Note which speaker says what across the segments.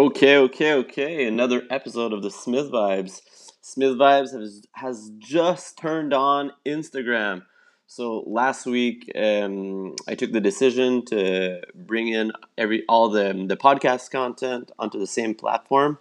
Speaker 1: Okay. Another episode of the Smith Vibes. Smith Vibes has just turned on Instagram. So last week, I took the decision to bring in all the podcast content onto the same platform,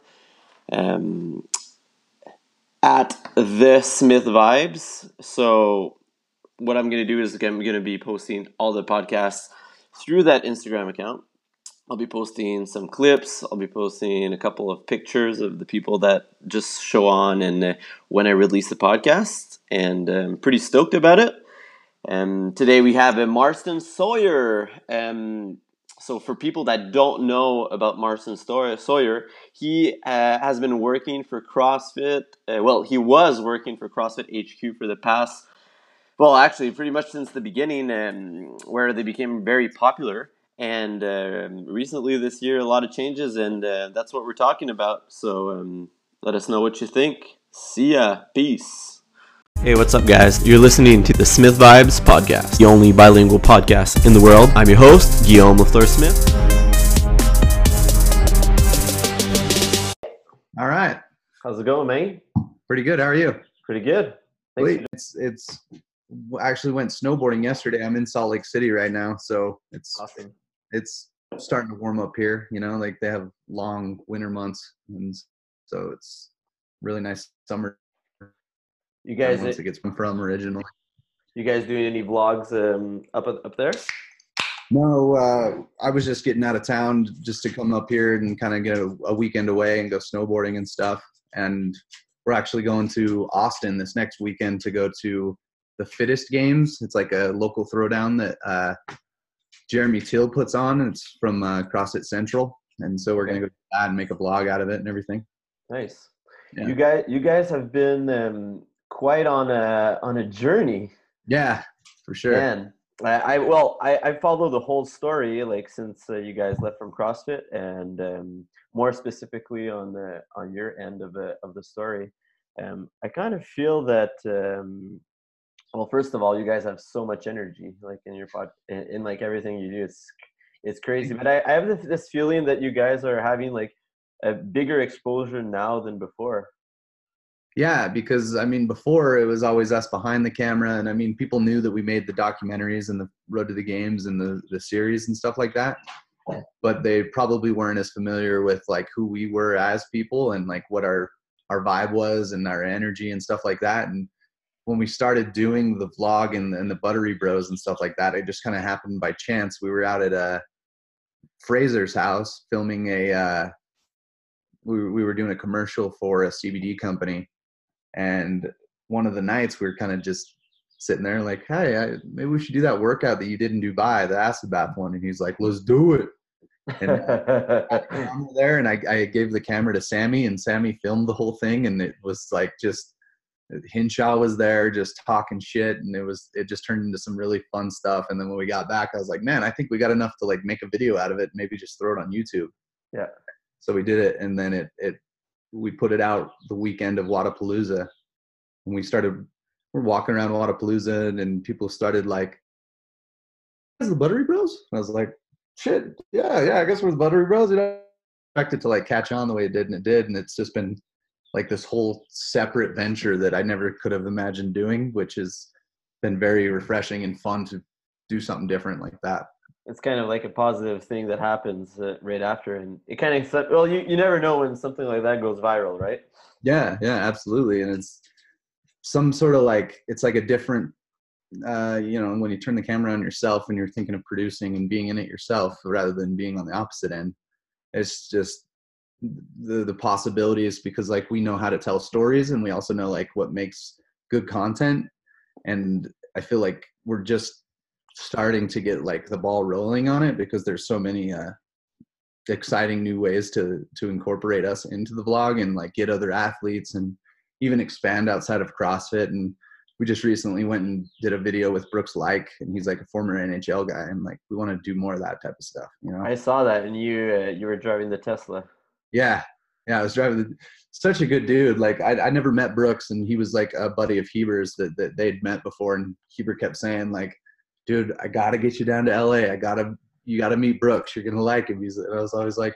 Speaker 1: at the Smith Vibes. So what I'm going to do is I'm going to be posting all the podcasts through that Instagram account. I'll be posting some clips. I'll be posting a couple of pictures of the people that just show on and when I release the podcast. And I'm pretty stoked about it. Today we have Marston Sawyer. So for people that don't know about Marston Sawyer, he has been working for CrossFit. He was working for CrossFit HQ for the past, actually pretty much since the beginning, where they became very popular. And recently this year, a lot of changes, and that's what we're talking about. So let us know what you think. See ya. Peace. Hey, what's up, guys? You're listening to the Smith Vibes podcast, the only bilingual podcast in the world. I'm your host, Guillaume Lafleur-Smith.
Speaker 2: All right.
Speaker 1: How's it going, man?
Speaker 2: Pretty good. How are you?
Speaker 1: Pretty good.
Speaker 2: Thanks. It's actually went snowboarding yesterday. I'm in Salt Lake City right now, so it's
Speaker 1: awesome.
Speaker 2: It's starting to warm up here. You know, like they have long winter months, and so it's really nice summer.
Speaker 1: You guys,
Speaker 2: it gets from originally.
Speaker 1: You guys doing any vlogs up there?
Speaker 2: No, I was just getting out of town just to come up here and kind of get a weekend away and go snowboarding and stuff. And we're actually going to Austin this next weekend to go to the Fittest Games. It's like a local throwdown that Jeremy Till puts on. It's from CrossFit Central, and so we're gonna go to that and make a vlog out of it and everything.
Speaker 1: Nice.
Speaker 2: Yeah.
Speaker 1: You guys have been quite on a journey.
Speaker 2: Yeah, for sure.
Speaker 1: Man, I follow the whole story, like since you guys left from CrossFit, and more specifically on your end of the story. I kind of feel that. Well, first of all, you guys have so much energy, like in your in like everything you do. It's crazy. But I have this feeling that you guys are having like a bigger exposure now than before.
Speaker 2: Yeah, because I mean, before it was always us behind the camera, and I mean, people knew that we made the documentaries and the Road to the Games and the series and stuff like that, but they probably weren't as familiar with like who we were as people and like what our vibe was and our energy and stuff like that. And when we started doing the vlog and the Buttery Bros and stuff like that, it just kind of happened by chance. We were out at Fraser's house filming we were doing a commercial for a CBD company. And one of the nights we were kind of just sitting there like, hey, maybe we should do that workout that you did in Dubai, the acid bath one. And he's like, let's do it. And I'm there, and I gave the camera to Sammy, and Sammy filmed the whole thing. And it was like just, Hinshaw was there just talking shit, and it just turned into some really fun stuff. And then when we got back, I was like, man, I think we got enough to like make a video out of it, maybe just throw it on YouTube.
Speaker 1: Yeah. So
Speaker 2: we did it, and then we put it out the weekend of Wodapalooza, and we're walking around Wodapalooza, and people started like, is the Buttery Bros? And I was like, shit, yeah, I guess we're the Buttery Bros. You know, I expected to like catch on the way it did, and it did, and it's just been like this whole separate venture that I never could have imagined doing, which has been very refreshing and fun to do something different like that.
Speaker 1: It's kind of like a positive thing that happens right after, and it kind of, well, you never know when something like that goes viral, right?
Speaker 2: Yeah, absolutely. And it's some sort of like, it's like a different, when you turn the camera on yourself and you're thinking of producing and being in it yourself rather than being on the opposite end, it's just, the possibilities, because like we know how to tell stories, and we also know like what makes good content, and I feel like we're just starting to get like the ball rolling on it, because there's so many exciting new ways to incorporate us into the vlog and like get other athletes and even expand outside of CrossFit. And we just recently went and did a video with Brooks Laich, and he's like a former NHL guy, and like we want to do more of that type of stuff, you know.
Speaker 1: I saw that, and you were driving the Tesla.
Speaker 2: Yeah, I was driving such a good dude. Like I never met Brooks, and he was like a buddy of Heber's that they'd met before, and Heber kept saying like, dude, I gotta get you down to LA. You gotta meet Brooks. You're gonna like him. And I was always like,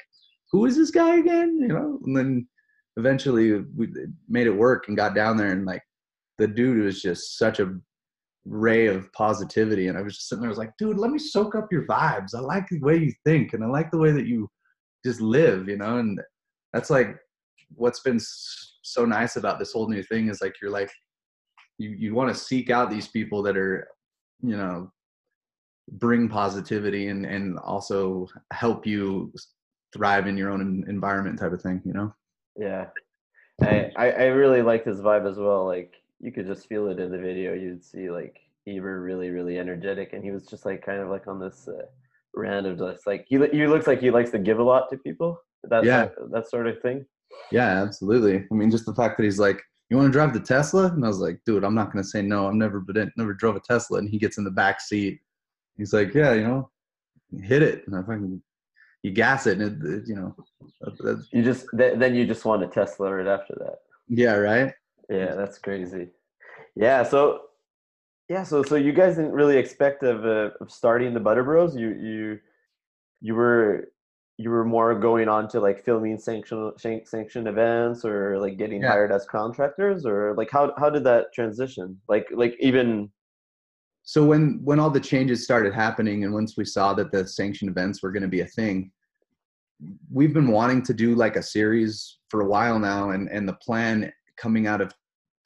Speaker 2: who is this guy again? You know, and then eventually we made it work and got down there, and like the dude was just such a ray of positivity. And I was just sitting there, I was like, dude, let me soak up your vibes. I like the way you think, and I like the way that you just live, you know. And that's like what's been so nice about this whole new thing is like you're like you want to seek out these people that are, you know, bring positivity and also help you thrive in your own environment type of thing, you know.
Speaker 1: Yeah. I really liked his vibe as well. Like you could just feel it in the video. You'd see like Eber really, really energetic, and he was just like kind of like on this random, just like he looks like he likes to give a lot to people.
Speaker 2: Yeah,
Speaker 1: That sort of thing.
Speaker 2: yeah, absolutely. I mean, just the fact that he's like, you want to drive the Tesla? And I was like, dude, I'm not going to say no. I've never drove a Tesla. And he gets in the back seat. He's like, yeah, you know, hit it. And I fucking, you gas it. And you know,
Speaker 1: Then you just want a Tesla right after that.
Speaker 2: yeah, right.
Speaker 1: Yeah, that's crazy. Yeah, so you guys didn't really expect of starting the Butter Bros. You were you were more going on to like filming sanction events or like getting
Speaker 2: Yeah.
Speaker 1: hired as contractors, or like how did that transition? Like even
Speaker 2: So when all the changes started happening, and once we saw that the sanctioned events were going to be a thing, we've been wanting to do like a series for a while now, and the plan coming out of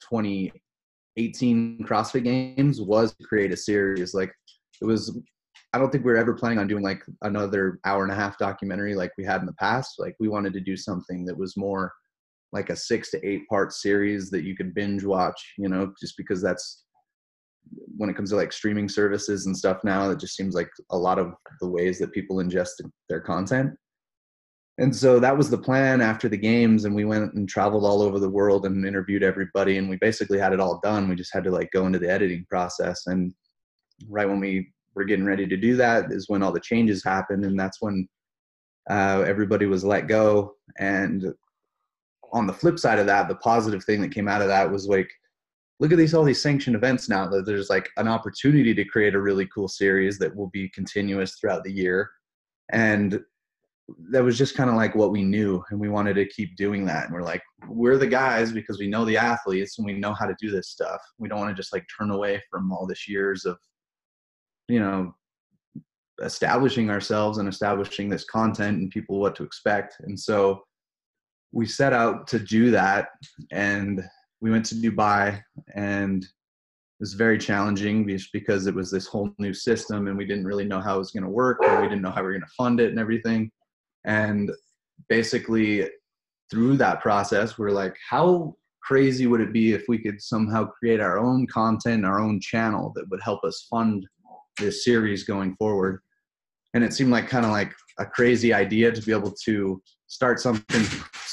Speaker 2: 2018 CrossFit Games was to create a series. Like it was, I don't think we were ever planning on doing like another hour and a half documentary like we had in the past. Like we wanted to do something that was more like a 6 to 8 part series that you could binge watch, you know, just because that's when it comes to like streaming services and stuff now, it just seems like a lot of the ways that people ingest their content. And so that was the plan after the games, and we went and traveled all over the world and interviewed everybody, and we basically had it all done. We just had to like go into the editing process. And right when we were getting ready to do that is when all the changes happened, and that's when everybody was let go. And on the flip side of that, the positive thing that came out of that was like, look at all these sanctioned events now, that there's like an opportunity to create a really cool series that will be continuous throughout the year. And that was just kind of like what we knew, and we wanted to keep doing that. And we're like, we're the guys because we know the athletes and we know how to do this stuff. We don't want to just like turn away from all this years of, you know, establishing ourselves and establishing this content and people what to expect. And so we set out to do that, and we went to Dubai, and it was very challenging just because it was this whole new system, and we didn't really know how it was going to work, and we didn't know how we were going to fund it and everything. And basically through that process, we're like, how crazy would it be if we could somehow create our own content, our own channel that would help us fund this series going forward? And it seemed like kind of like a crazy idea to be able to start something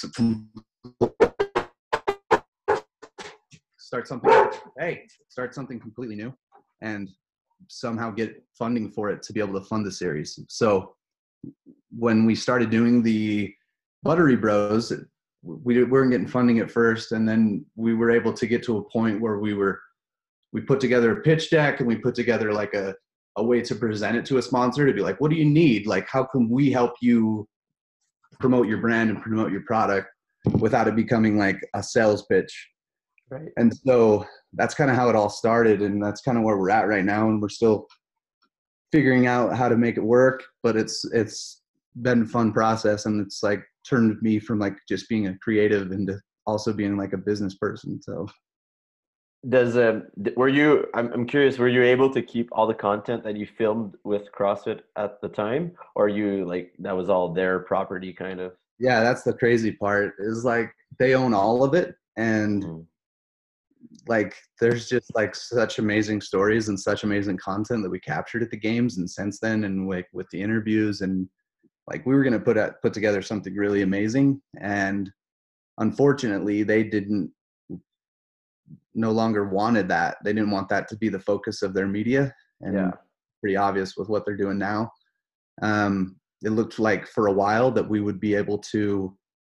Speaker 2: completely new and somehow get funding for it to be able to fund the series. So when we started doing the Buttery Bros, we weren't getting funding at first, and then we were able to get to a point where we put together a pitch deck, and we put together like a way to present it to a sponsor to be like, what do you need? Like, how can we help you promote your brand and promote your product without it becoming like a sales pitch?
Speaker 1: right.
Speaker 2: And so that's kind of how it all started, and that's kind of where we're at right now, and we're still figuring out how to make it work, but it's been a fun process, and it's like turned me from like just being a creative into also being like a business person. So
Speaker 1: Does were you? I'm curious. Were you able to keep all the content that you filmed with CrossFit at the time, or you like that was all their property, kind of?
Speaker 2: yeah, that's the crazy part, is like they own all of it, and like there's just like such amazing stories and such amazing content that we captured at the games and since then, and like with the interviews, and like we were going to put together something really amazing, and unfortunately they didn't no longer wanted that. They didn't want that to be the focus of their media, and
Speaker 1: Yeah.
Speaker 2: pretty obvious with what they're doing now. It looked like for a while that we would be able to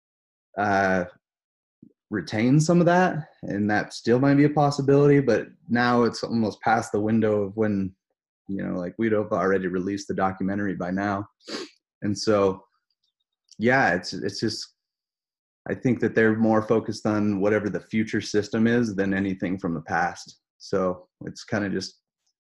Speaker 2: retain some of that, and that still might be a possibility, but now it's almost past the window of when, you know, like we'd have already released the documentary by now. And so yeah, it's just, I think that they're more focused on whatever the future system is than anything from the past. So it's kind of just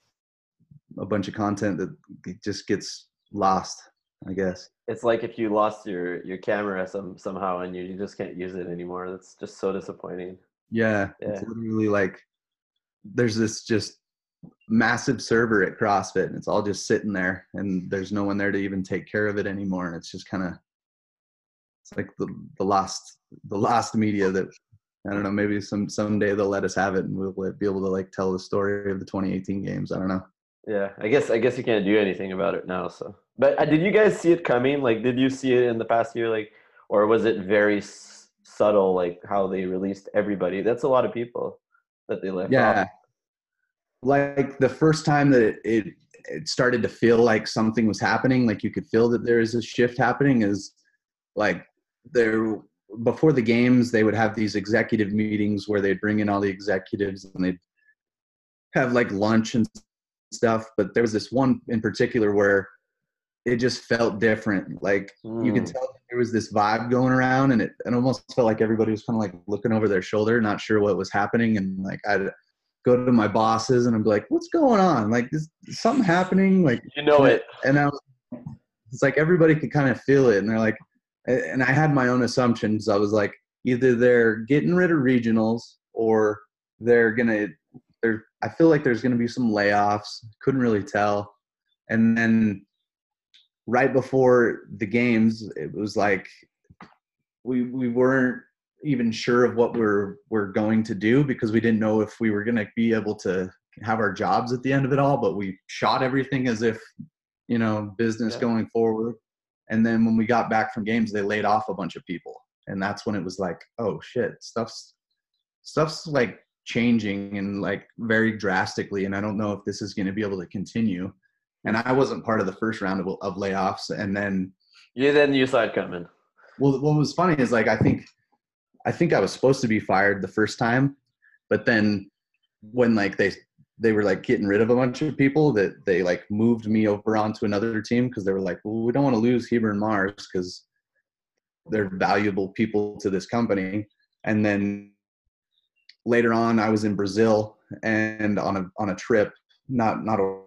Speaker 2: a bunch of content that just gets lost, I guess.
Speaker 1: It's like if you lost your camera somehow and you just can't use it anymore. That's just so disappointing.
Speaker 2: Yeah, it's
Speaker 1: Yeah.
Speaker 2: literally like there's this just massive server at CrossFit and it's all just sitting there and there's no one there to even take care of it anymore. And it's just kind of, it's like the lost media that, I don't know, maybe someday they'll let us have it and we'll be able to like tell the story of the 2018 games. I don't know.
Speaker 1: Yeah, I guess you can't do anything about it now. So, but did you guys see it coming? Like, did you see it in the past year? Like, or was it very subtle? Like how they released everybody. That's a lot of people that they left off.
Speaker 2: Yeah, like the first time that it started to feel like something was happening, like you could feel that there is a shift happening, is like there, before the games they would have these executive meetings where they'd bring in all the executives and they'd have like lunch and stuff. But there was this one in particular where it just felt different. Like you could
Speaker 1: Mm.
Speaker 2: tell there was this vibe going around, and it almost felt like everybody was kind of like looking over their shoulder, not sure what was happening. And like I'd go to my bosses and I'd be like, "What's going on? Like, is something happening?" Like,
Speaker 1: You know
Speaker 2: and
Speaker 1: it.
Speaker 2: it's like everybody could kind of feel it, and they're like, and I had my own assumptions. I was like, either they're getting rid of regionals or they're gonna. I feel like there's gonna be some layoffs. Couldn't really tell, and then right before the games, it was like we weren't even sure of what we're going to do because we didn't know if we were going to be able to have our jobs at the end of it all. But we shot everything as if, business
Speaker 1: Yeah.
Speaker 2: going forward. And then when we got back from games, they laid off a bunch of people, and that's when it was like, oh shit, stuff's like changing and like very drastically, and I don't know if this is going to be able to continue. And I wasn't part of the first round of layoffs. And then,
Speaker 1: You saw it coming.
Speaker 2: well, what was funny is like I think I was supposed to be fired the first time, but then when like they were like getting rid of a bunch of people, that they like moved me over onto another team because they were like, well, we don't want to lose Heber and Mars because they're valuable people to this company. And then later on, I was in Brazil and on a trip, not a,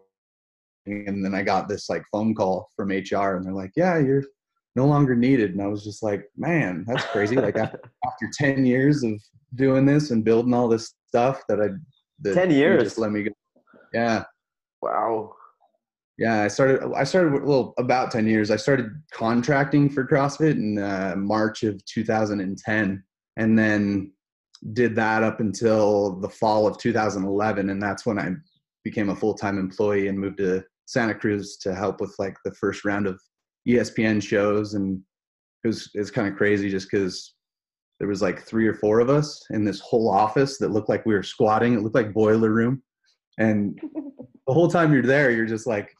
Speaker 2: and then I got this like phone call from HR and they're like, yeah, you're no longer needed. And I was just like, man, that's crazy. Like after 10 years of doing this and building all this stuff that
Speaker 1: 10
Speaker 2: you just
Speaker 1: years.
Speaker 2: let me go. Yeah.
Speaker 1: Wow.
Speaker 2: Yeah. I started well, about 10 years. I started contracting for CrossFit in March of 2010 and then did that up until the fall of 2011. And that's when I became a full-time employee and moved to Santa Cruz to help with like the first round of ESPN shows. And it's kind of crazy just because there was like 3 or 4 of us in this whole office that looked like we were squatting. It looked like boiler room. And the whole time you're there, you're just like,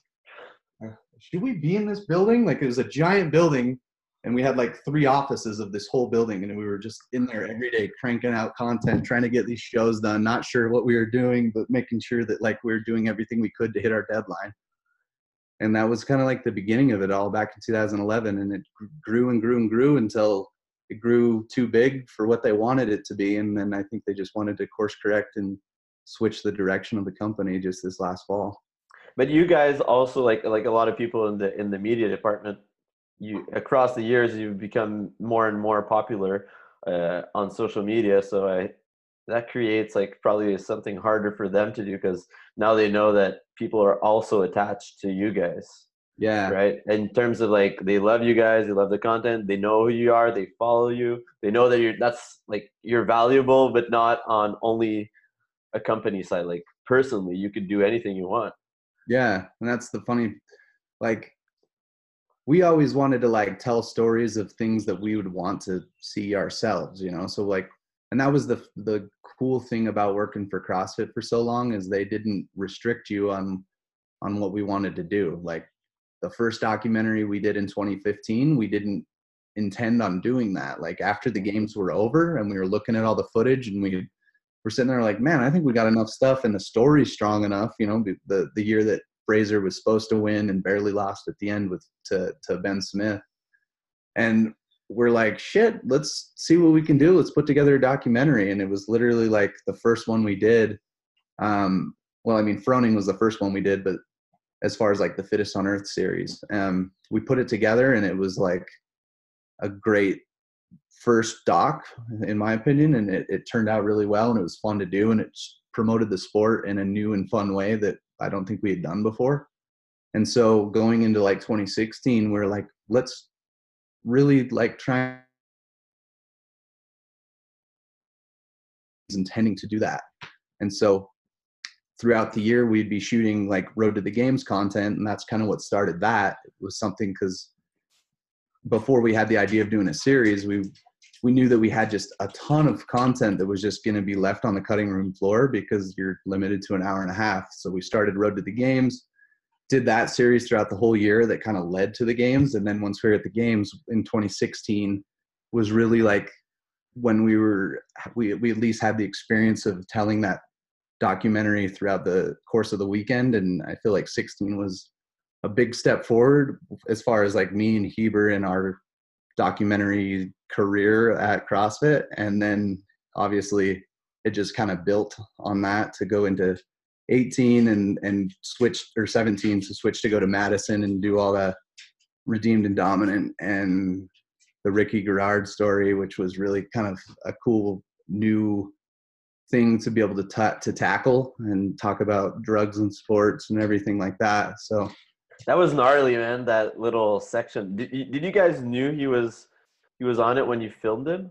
Speaker 2: should we be in this building? Like it was a giant building and we had like 3 offices of this whole building and we were just in there every day cranking out content, trying to get these shows done, not sure what we were doing, but making sure that like we were doing everything we could to hit our deadline. And that was kind of like the beginning of it all back in 2011. And it grew and grew and grew until it grew too big for what they wanted it to be. And then I think they just wanted to course correct and switch the direction of the company just this last fall.
Speaker 1: But you guys also like a lot of people in the media department, you across the years you've become more and more popular on social media. So that creates like probably something harder for them to do because now they know that people are also attached to you guys,
Speaker 2: Yeah.
Speaker 1: right? In terms of like they love you guys, they love the content, they know who you are, they follow you, they know that you're valuable, but not on only a company side. Like personally, you could do anything you want.
Speaker 2: Yeah. And that's the funny, like, we always wanted to like tell stories of things that we would want to see ourselves, so like, and that was the cool thing about working for CrossFit for so long is they didn't restrict you on what we wanted to do. Like the first documentary we did in 2015, we didn't intend on doing that. Like after the games were over and we were looking at all the footage and we were sitting there like, man, I think we got enough stuff and the story's strong enough, the year that Fraser was supposed to win and barely lost at the end to Ben Smith. And we're like, shit, let's see what we can do. Let's put together a documentary. And it was literally like the first one we did. Well, I mean, Froning was the first one we did, but as far as like the Fittest on Earth series, we put it together, and it was like a great first doc, in my opinion, and it turned out really well, and it was fun to do, and it promoted the sport in a new and fun way that I don't think we had done before. And so going into like 2016, we're like, let's really like try intending to do that. And so throughout the year, we'd be shooting like Road to the Games content, and that's kind of what started that. It was something because before we had the idea of doing a series, we knew that we had just a ton of content that was just going to be left on the cutting room floor because you're limited to an hour and a half. So we started Road to the Games, did that series throughout the whole year that kind of led to the games. And then once we were at the games in 2016 was really like when we at least had the experience of telling that documentary throughout the course of the weekend. And I feel like 16 was a big step forward as far as like me and Heber in our documentary career at CrossFit. And then obviously it just kind of built on that to go into 18 and switch, or 17 to switch to go to Madison and do all the Redeemed and Dominant and the Ricky Garard story, which was really kind of a cool new thing to be able to tackle and talk about drugs and sports and everything like that. So
Speaker 1: That was gnarly, man. That little section. Did you guys knew he was on it when you filmed him?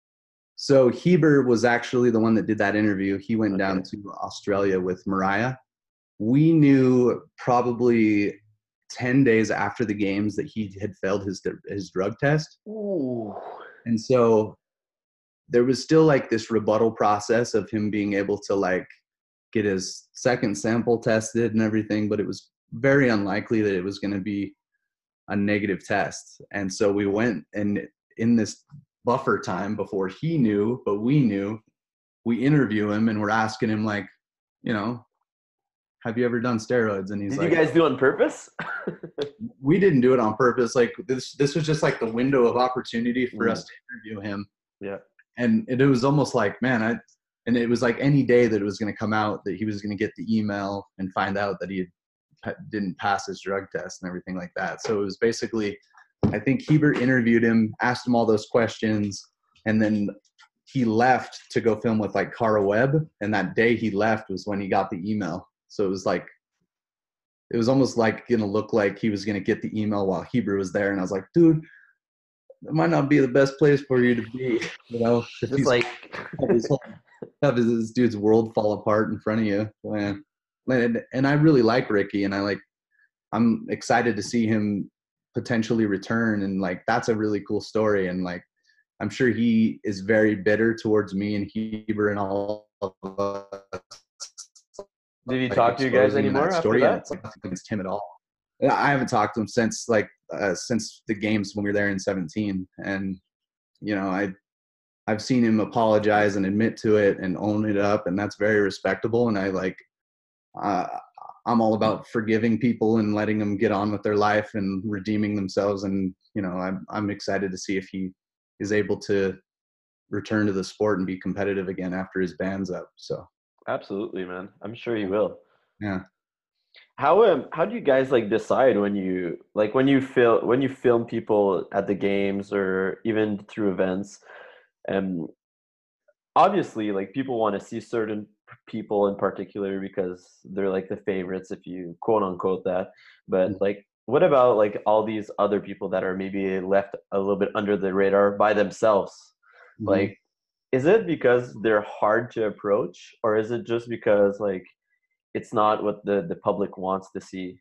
Speaker 2: So Heber was actually the one that did that interview. He went down
Speaker 1: Okay.
Speaker 2: to Australia with Mariah. We knew probably 10 days after the games that he had failed his drug test.
Speaker 1: Ooh.
Speaker 2: And so there was still like this rebuttal process of him being able to like get his second sample tested and everything, but it was very unlikely that it was going to be a negative test. And so we went, and in this buffer time before he knew, but we knew, we interview him and we're asking him like, you know, have you ever done steroids? And he's
Speaker 1: Did you
Speaker 2: like,
Speaker 1: guys do it on purpose?
Speaker 2: we didn't do it on purpose. Like this was just like the window of opportunity for us to interview him.
Speaker 1: Yeah.
Speaker 2: And it was almost like, man, and it was like any day that it was going to come out that he was going to get the email and find out that he didn't pass his drug test and everything like that. So it was basically, I think Heber interviewed him, asked him all those questions, and then he left to go film with like Cara Webb. And that day he left was when he got the email. So it was like, it was almost like going to look like he was going to get the email while Heber was there. And I was like, dude, that might not be the best place for you to be, you know, if
Speaker 1: Just
Speaker 2: he's
Speaker 1: like
Speaker 2: have this dude's world fall apart in front of you. And I really like Ricky, and I'm excited to see him potentially return. And like, that's a really cool story. And like, I'm sure he is very bitter towards me and Heber and all of us,
Speaker 1: did he
Speaker 2: like
Speaker 1: talk to you guys
Speaker 2: exposing
Speaker 1: anymore
Speaker 2: that
Speaker 1: after
Speaker 2: story. And
Speaker 1: that?
Speaker 2: it's like nothing against him at all. I haven't talked to him since since the games when we were there in 17. And, you know, I've seen him apologize and admit to it and own it up, and that's very respectable. And uh, I'm all about forgiving people and letting them get on with their life and redeeming themselves. And, you know, I'm excited to see if he is able to return to the sport and be competitive again after his ban's up. So,
Speaker 1: Absolutely, man. I'm sure he will.
Speaker 2: yeah.
Speaker 1: How do you guys like decide when you film people at the games or even through events? And obviously, like people want to see certain people in particular because they're like the favorites, if you quote unquote that. But like, what about like all these other people that are maybe left a little bit under the radar by themselves?
Speaker 2: Mm-hmm.
Speaker 1: Like, is it because they're hard to approach, or is it just because like it's not what the public wants to see?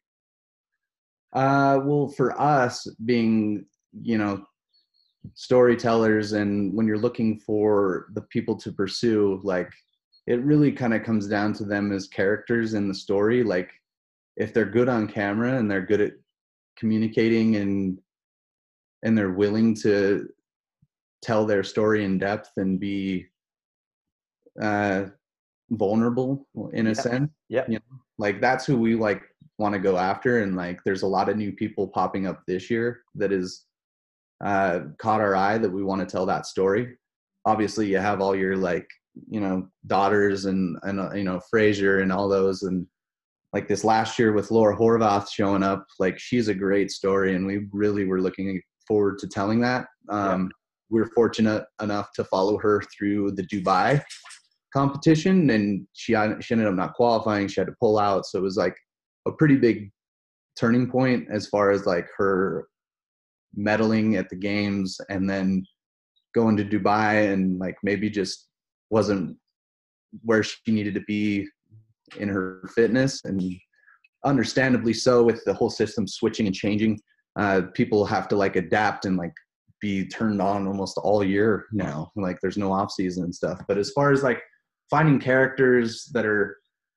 Speaker 2: Well, for us being, you know, storytellers, and when you're looking for the people to pursue, like it really kind of comes down to them as characters in the story. Like if they're good on camera and they're good at communicating and they're willing to tell their story in depth and be uh, vulnerable in a
Speaker 1: Yeah.
Speaker 2: sense,
Speaker 1: Yeah.
Speaker 2: you know, like that's who we like want to go after. And like there's a lot of new people popping up this year that is caught our eye that we want to tell that story. Obviously, you have all your like, daughters and Frasier and all those, and like this last year with Laura Horvath showing up, like she's a great story, and we really were looking forward to telling that. We were fortunate enough to follow her through the Dubai competition, and she ended up not qualifying. She had to pull out, so it was like a pretty big turning point as far as like her medaling at the games, and then going to Dubai and like maybe just wasn't where she needed to be in her fitness, and understandably so with the whole system switching and changing. People have to like adapt and like be turned on almost all year now. Like there's no off season and stuff. But as far as like finding characters that are,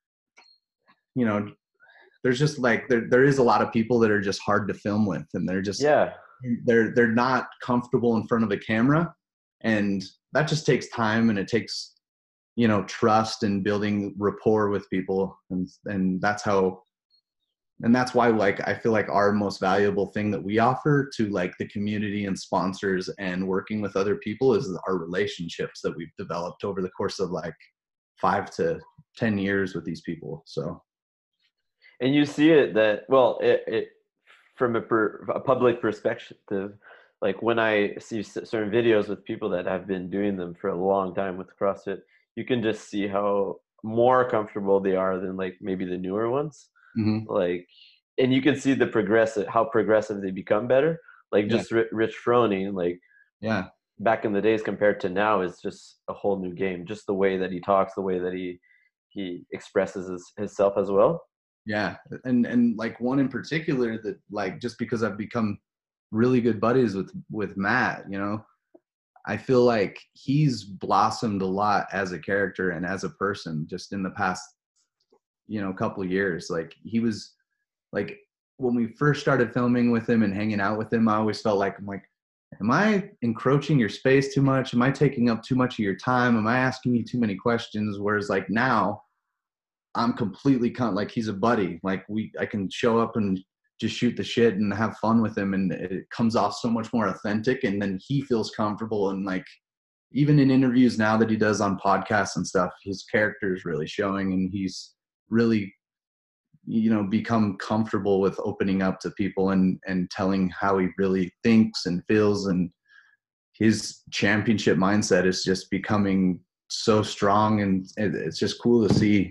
Speaker 2: there's just like there is a lot of people that are just hard to film with, and they're just they're not comfortable in front of a camera, and that just takes time, and it takes trust and building rapport with people, and that's why like I feel like our most valuable thing that we offer to like the community and sponsors and working with other people is our relationships that we've developed over the course of like 5 to 10 years with these people. So,
Speaker 1: and you see it that well, it from a public perspective, like when I see certain videos with people that have been doing them for a long time with CrossFit, you can just see how more comfortable they are than like maybe the newer ones. Like, and you can see how progressive they become better. Like just Rich Froning, like back in the days compared to now is just a whole new game. Just the way that he talks, the way that he expresses himself as well.
Speaker 2: Yeah, and like one in particular that like just because I've become really good buddies with Matt, I feel like he's blossomed a lot as a character and as a person just in the past, couple of years. Like he was like, when we first started filming with him and hanging out with him, I always felt like, am I encroaching your space too much? Am I taking up too much of your time? Am I asking you too many questions? Whereas like now I'm completely like he's a buddy. Like I can show up and just shoot the shit and have fun with him, and it comes off so much more authentic, and then he feels comfortable. And like even in interviews now that he does on podcasts and stuff, his character is really showing, and he's really become comfortable with opening up to people and telling how he really thinks and feels, and his championship mindset is just becoming so strong, and it's just cool to see.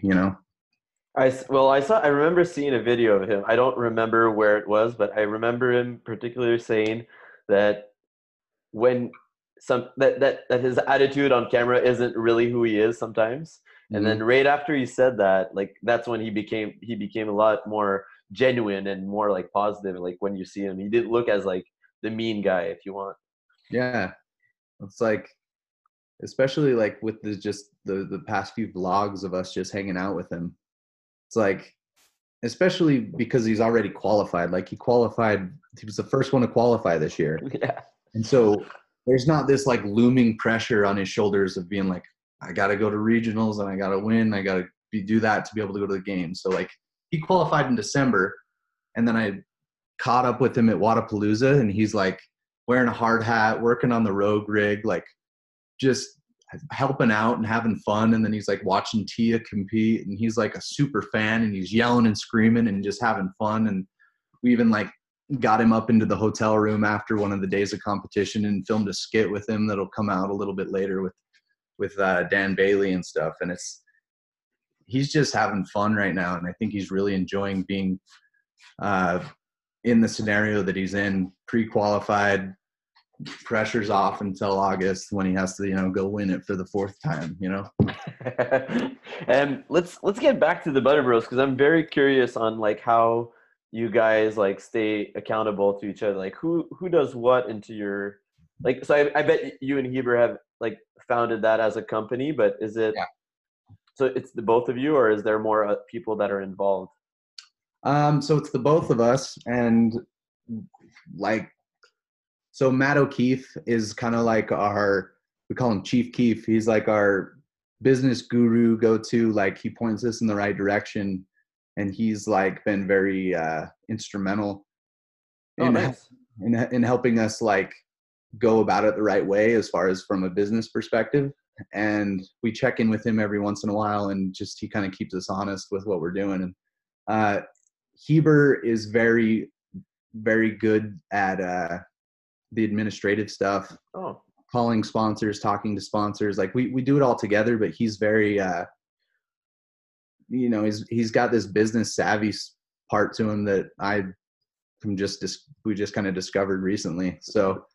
Speaker 1: I remember seeing a video of him. I don't remember where it was, but I remember him particularly saying that when that his attitude on camera isn't really who he is sometimes. And then right after he said that, like that's when he became a lot more genuine and more like positive. Like when you see him, he didn't look as like the mean guy, if you want.
Speaker 2: Yeah, it's like, especially like with the past few vlogs of us just hanging out with him. It's like, especially because he's already qualified. Like he was the first one to qualify this year.
Speaker 1: Yeah.
Speaker 2: And so there's not this like looming pressure on his shoulders of being like, I got to go to regionals and I got to win. I got to do that to be able to go to the games. So like he qualified in December, and then I caught up with him at Wodapalooza, and he's like wearing a hard hat, working on the Rogue rig, like just helping out and having fun. And then he's like watching Tia compete, and he's like a super fan, and he's yelling and screaming and just having fun. And we even like got him up into the hotel room after one of the days of competition and filmed a skit with him that'll come out a little bit later with Dan Bailey and stuff. And he's just having fun right now, and I think he's really enjoying being in the scenario that he's in. Pre-qualified, pressure's off until August when he has to go win it for the 4th time.
Speaker 1: And let's get back to the Butter Bros, because I'm very curious on like how you guys like stay accountable to each other. Like who does what into your like. So I bet you and Heber have like founded that as a company, but is it so it's the both of you, or is there more people that are involved?
Speaker 2: So it's the both of us, and like, so Matt O'Keefe is kind of like we call him Chief Keef. He's like our business guru, go-to, like he points us in the right direction, and he's like been very instrumental in helping us like go about it the right way as far as from a business perspective. And we check in with him every once in a while, and just he kind of keeps us honest with what we're doing. And Heber is very, very good at the administrative stuff.
Speaker 1: Oh,
Speaker 2: Calling sponsors, talking to sponsors. Like we do it all together, but he's very he's got this business savvy part to him that we just kind of discovered recently. So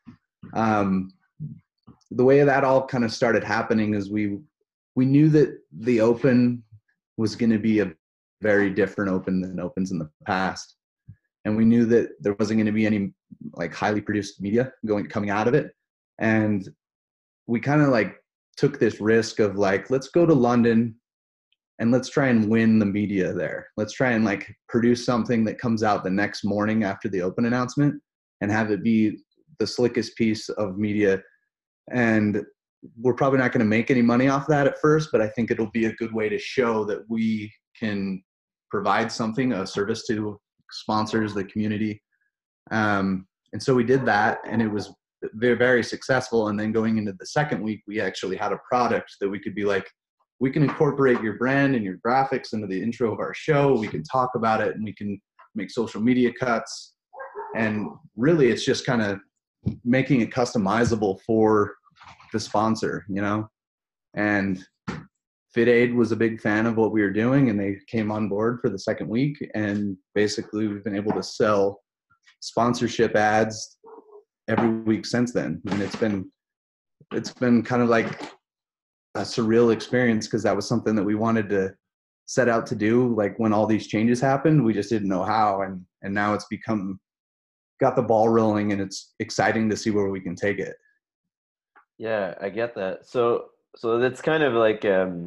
Speaker 2: the way that all kind of started happening is we knew that the Open was going to be a very different Open than Opens in the past. And we knew that there wasn't going to be any like highly produced media coming out of it. And we kind of like took this risk of like, let's go to London and let's try and win the media there. Let's try and like produce something that comes out the next morning after the Open announcement and have it be the slickest piece of media. And we're probably not going to make any money off that at first, but I think it'll be a good way to show that we can provide something, a service to sponsors, the community. And so we did that, and it was very, very successful. And then going into the second week, we actually had a product that we could be like, we can incorporate your brand and your graphics into the intro of our show. We can talk about it, and we can make social media cuts. And really, it's just kind of making it customizable for the sponsor, you know? And FitAid was a big fan of what we were doing, and they came on board for the second week. And basically, we've been able to sell sponsorship ads every week since then. And it's been kind of like a surreal experience, because that was something that we wanted to set out to do. Like when all these changes happened, we just didn't know how. And now it's got the ball rolling, and it's exciting to see where we can take it.
Speaker 1: yeah, I get that. So that's kind of like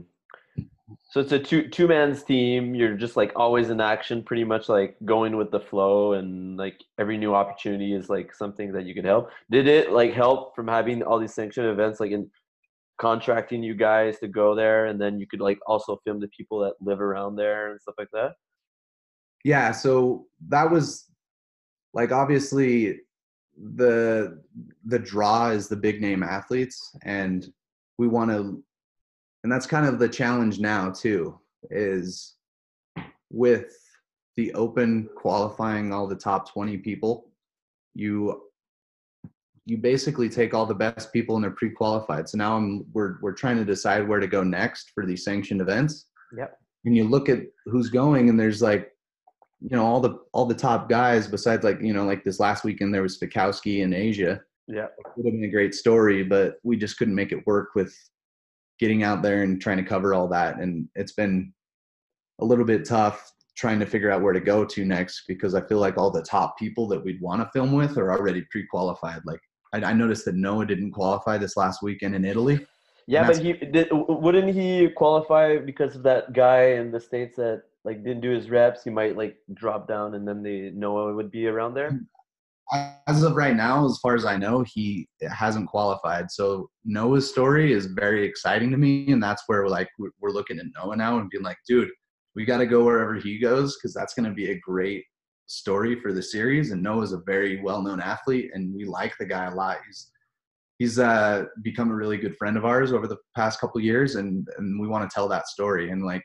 Speaker 1: so it's a two man's team. You're just like always in action, pretty much like going with the flow, and like every new opportunity is like something that you could help. Did it like help from having all these sanctioned events, like in contracting you guys to go there, and then you could like also film the people that live around there and stuff like that?
Speaker 2: Yeah, so that was like, obviously the draw is the big name athletes, and we want to, and that's kind of the challenge now too, is with the Open qualifying all the top 20 people, you basically take all the best people and they're pre-qualified. So now we're trying to decide where to go next for these sanctioned events.
Speaker 1: Yep.
Speaker 2: And you look at who's going, and there's like, you know, all the top guys, besides like, you know, like this last weekend there was Fikowski in Asia.
Speaker 1: Yeah.
Speaker 2: It would have been a great story, but we just couldn't make it work with getting out there and trying to cover all that. And it's been a little bit tough trying to figure out where to go to next, because I feel like all the top people that we'd want to film with are already pre-qualified. Like I noticed that Noah didn't qualify this last weekend in Italy.
Speaker 1: Yeah, but wouldn't he qualify because of that guy in the States that like didn't do his reps? He might like drop down, and then Noah would be around there.
Speaker 2: As of right now, as far as I know, he hasn't qualified. So Noah's story is very exciting to me, and that's where we're looking at Noah now and being like, dude, we got to go wherever he goes, because that's going to be a great story for the series. And Noah's a very well-known athlete, and we like the guy a lot. He's become a really good friend of ours over the past couple of years, and we want to tell that story. And like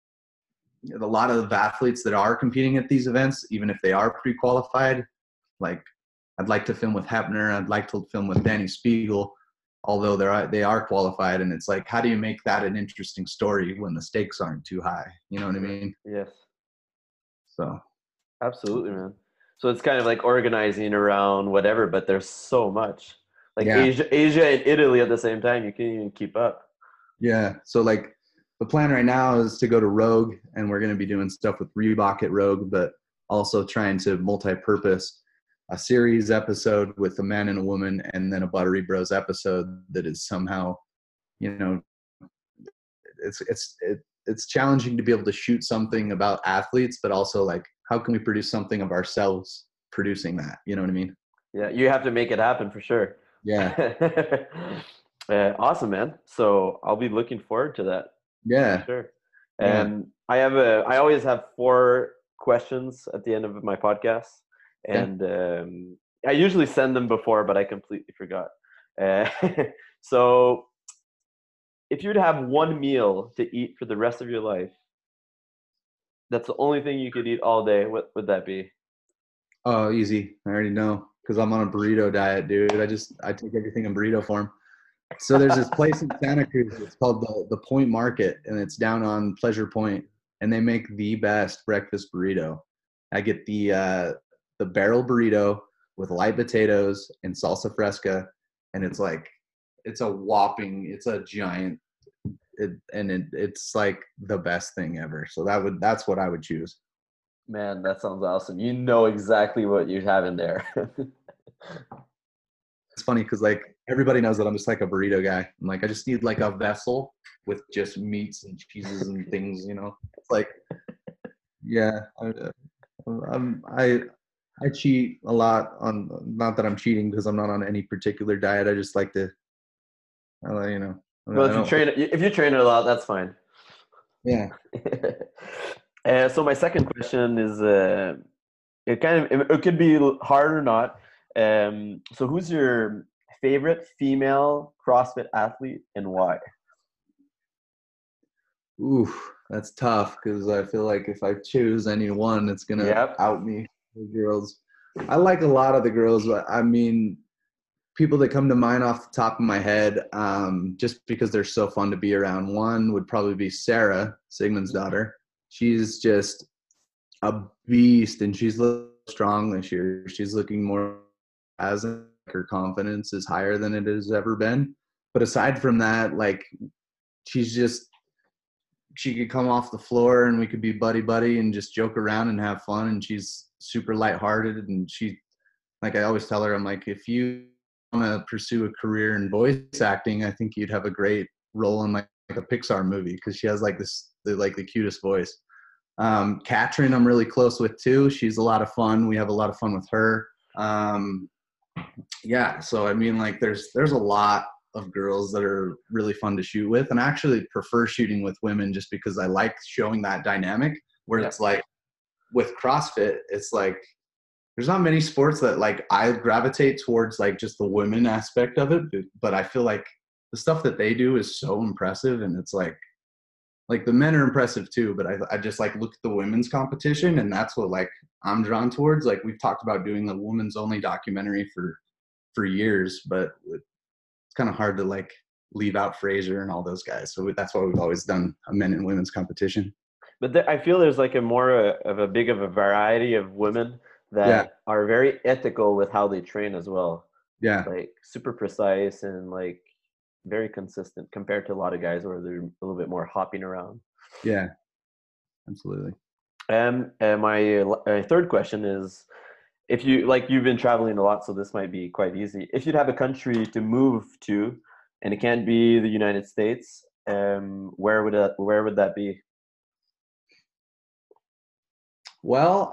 Speaker 2: a lot of athletes that are competing at these events, even if they are pre-qualified, like I'd like to film with Hepner, I'd like to film with Danny Spiegel, although they are qualified. And it's like, how do you make that an interesting story when the stakes aren't too high? You know what I mean?
Speaker 1: Yes.
Speaker 2: So
Speaker 1: Absolutely, man. So it's kind of like organizing around whatever, but there's so much. Like
Speaker 2: yeah.
Speaker 1: Asia and Italy at the same time, you can't even keep up.
Speaker 2: Yeah. So like the plan right now is to go to Rogue, and we're going to be doing stuff with Reebok at Rogue, but also trying to multi-purpose a series episode with a man and a woman, and then a Buttery Bros episode that is somehow, you know, it's challenging to be able to shoot something about athletes, but also like, how can we produce something of ourselves producing that? You know what I mean?
Speaker 1: Yeah, you have to make it happen for sure.
Speaker 2: Yeah.
Speaker 1: Awesome, man. So I'll be looking forward to that.
Speaker 2: Yeah.
Speaker 1: Sure.
Speaker 2: Yeah.
Speaker 1: And I always have 4 questions at the end of my podcast.
Speaker 2: Okay.
Speaker 1: And I usually send them before, but I completely forgot. Uh, so, if you'd have one meal to eat for the rest of your life, that's the only thing you could eat all day, what would that be?
Speaker 2: Oh, easy. I already know because I'm on a burrito diet, dude. I take everything in burrito form. So there's this place in Santa Cruz. It's called the Point Market, and it's down on Pleasure Point, and they make the best breakfast burrito. I get the barrel burrito with light potatoes and salsa fresca, and it's like it's a whopping, it's a giant, it's like the best thing ever. So that's what I would choose.
Speaker 1: Man, that sounds awesome. You know exactly what you have in there.
Speaker 2: It's funny because like everybody knows that I'm just like a burrito guy. I'm like I just need like a vessel with just meats and cheeses and things. It's like yeah, I cheat a lot on not that I'm cheating because I'm not on any particular diet. I just like to
Speaker 1: Well,
Speaker 2: I don't think
Speaker 1: if you train it a lot, that's fine.
Speaker 2: yeah.
Speaker 1: So my second question is, it could be hard or not. So who's your favorite female CrossFit athlete and why?
Speaker 2: Ooh, that's tough because I feel like if I choose any one, it's gonna
Speaker 1: Yep.
Speaker 2: out me. The girls, I like a lot of the girls, but I mean, people that come to mind off the top of my head, just because they're so fun to be around. One would probably be Sarah, Sigmund's daughter. She's just a beast, and she's looking strong this year. She's looking more as her confidence is higher than it has ever been. But aside from that, like she's just she could come off the floor and we could be buddy buddy and just joke around and have fun. And she's super lighthearted. And she, like I always tell her, I'm like, if you want to pursue a career in voice acting, I think you'd have a great role in like a Pixar movie because she has like the cutest voice. Katrin, I'm really close with too. She's a lot of fun. We have a lot of fun with her. Yeah, so I mean, like, there's a lot of girls that are really fun to shoot with, and I actually prefer shooting with women just because I like showing that dynamic. Where
Speaker 1: Yeah.
Speaker 2: it's like with CrossFit, it's like there's not many sports that like I gravitate towards like just the women aspect of it, but I feel like the stuff that they do is so impressive, and it's like the men are impressive too, but I just like look at the women's competition and that's what like I'm drawn towards. Like we've talked about doing a women's only documentary for years, but it's kind of hard to like leave out Fraser and all those guys. So that's why we've always done a men and women's competition.
Speaker 1: But I feel there's like a more of a big of a variety of women
Speaker 2: Yeah.
Speaker 1: that are very ethical with how they train as well.
Speaker 2: Yeah.
Speaker 1: Like super precise and like very consistent compared to a lot of guys where they're a little bit more hopping around.
Speaker 2: Yeah. Absolutely.
Speaker 1: And my third question is, if you like, you've been traveling a lot, so this might be quite easy. If you'd have a country to move to, and it can't be the United States, where would that be?
Speaker 2: Well,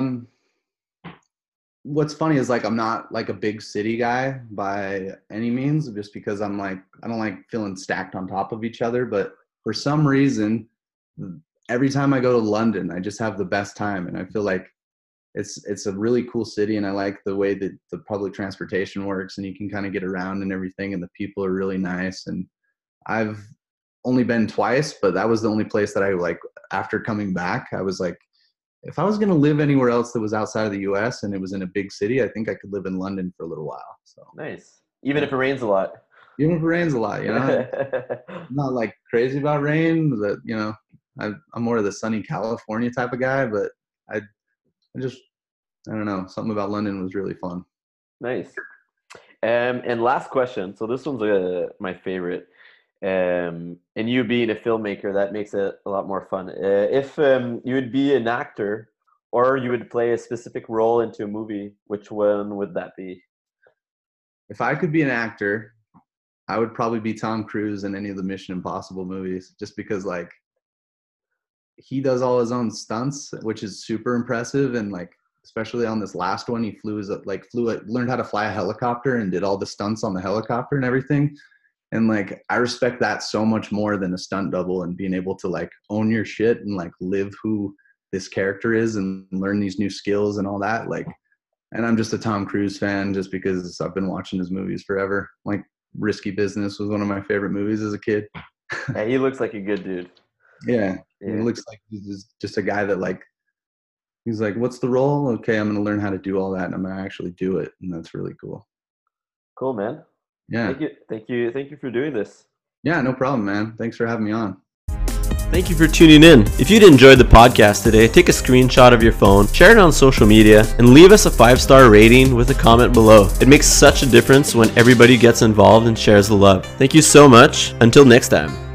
Speaker 2: what's funny is like I'm not like a big city guy by any means, just because I'm like I don't like feeling stacked on top of each other. But for some reason, every time I go to London, I just have the best time, and I feel like it's a really cool city, and I like the way that the public transportation works, and you can kind of get around and everything, and the people are really nice. And I've only been twice, but that was the only place that I like after coming back. I was like, if I was going to live anywhere else that was outside of the US and it was in a big city, I think I could live in London for a little while. So,
Speaker 1: Nice. Even
Speaker 2: yeah.
Speaker 1: if it rains a lot.
Speaker 2: Even if it rains a lot, I'm not like crazy about rain. That I'm more of the sunny California type of guy, but I just I don't know. Something about London was really fun.
Speaker 1: Nice. And last question. So this one's my favorite. And you being a filmmaker, that makes it a lot more fun. If you would be an actor or you would play a specific role into a movie, which one would that be?
Speaker 2: If I could be an actor, I would probably be Tom Cruise in any of the Mission Impossible movies, just because like he does all his own stunts, which is super impressive. And like, especially on this last one, he learned how to fly a helicopter and did all the stunts on the helicopter and everything. And like, I respect that so much more than a stunt double, and being able to like own your shit and like live who this character is and learn these new skills and all that. Like, And I'm just a Tom Cruise fan just because I've been watching his movies forever. Like Risky Business was one of my favorite movies as a kid.
Speaker 1: Yeah, he looks like a good dude.
Speaker 2: Yeah.
Speaker 1: Yeah.
Speaker 2: He looks like he's just a guy that like, he's like, what's the role? Okay, I'm going to learn how to do all that and I'm going to actually do it. And that's really cool.
Speaker 1: Cool, man.
Speaker 2: Yeah.
Speaker 1: Thank you for doing this.
Speaker 2: Yeah, no problem, man. Thanks for having me on.
Speaker 1: Thank you for tuning in. If you'd enjoyed the podcast today, take a screenshot of your phone, share it on social media, and leave us a 5-star rating with a comment below. It makes such a difference when everybody gets involved and shares the love. Thank you so much. Until next time.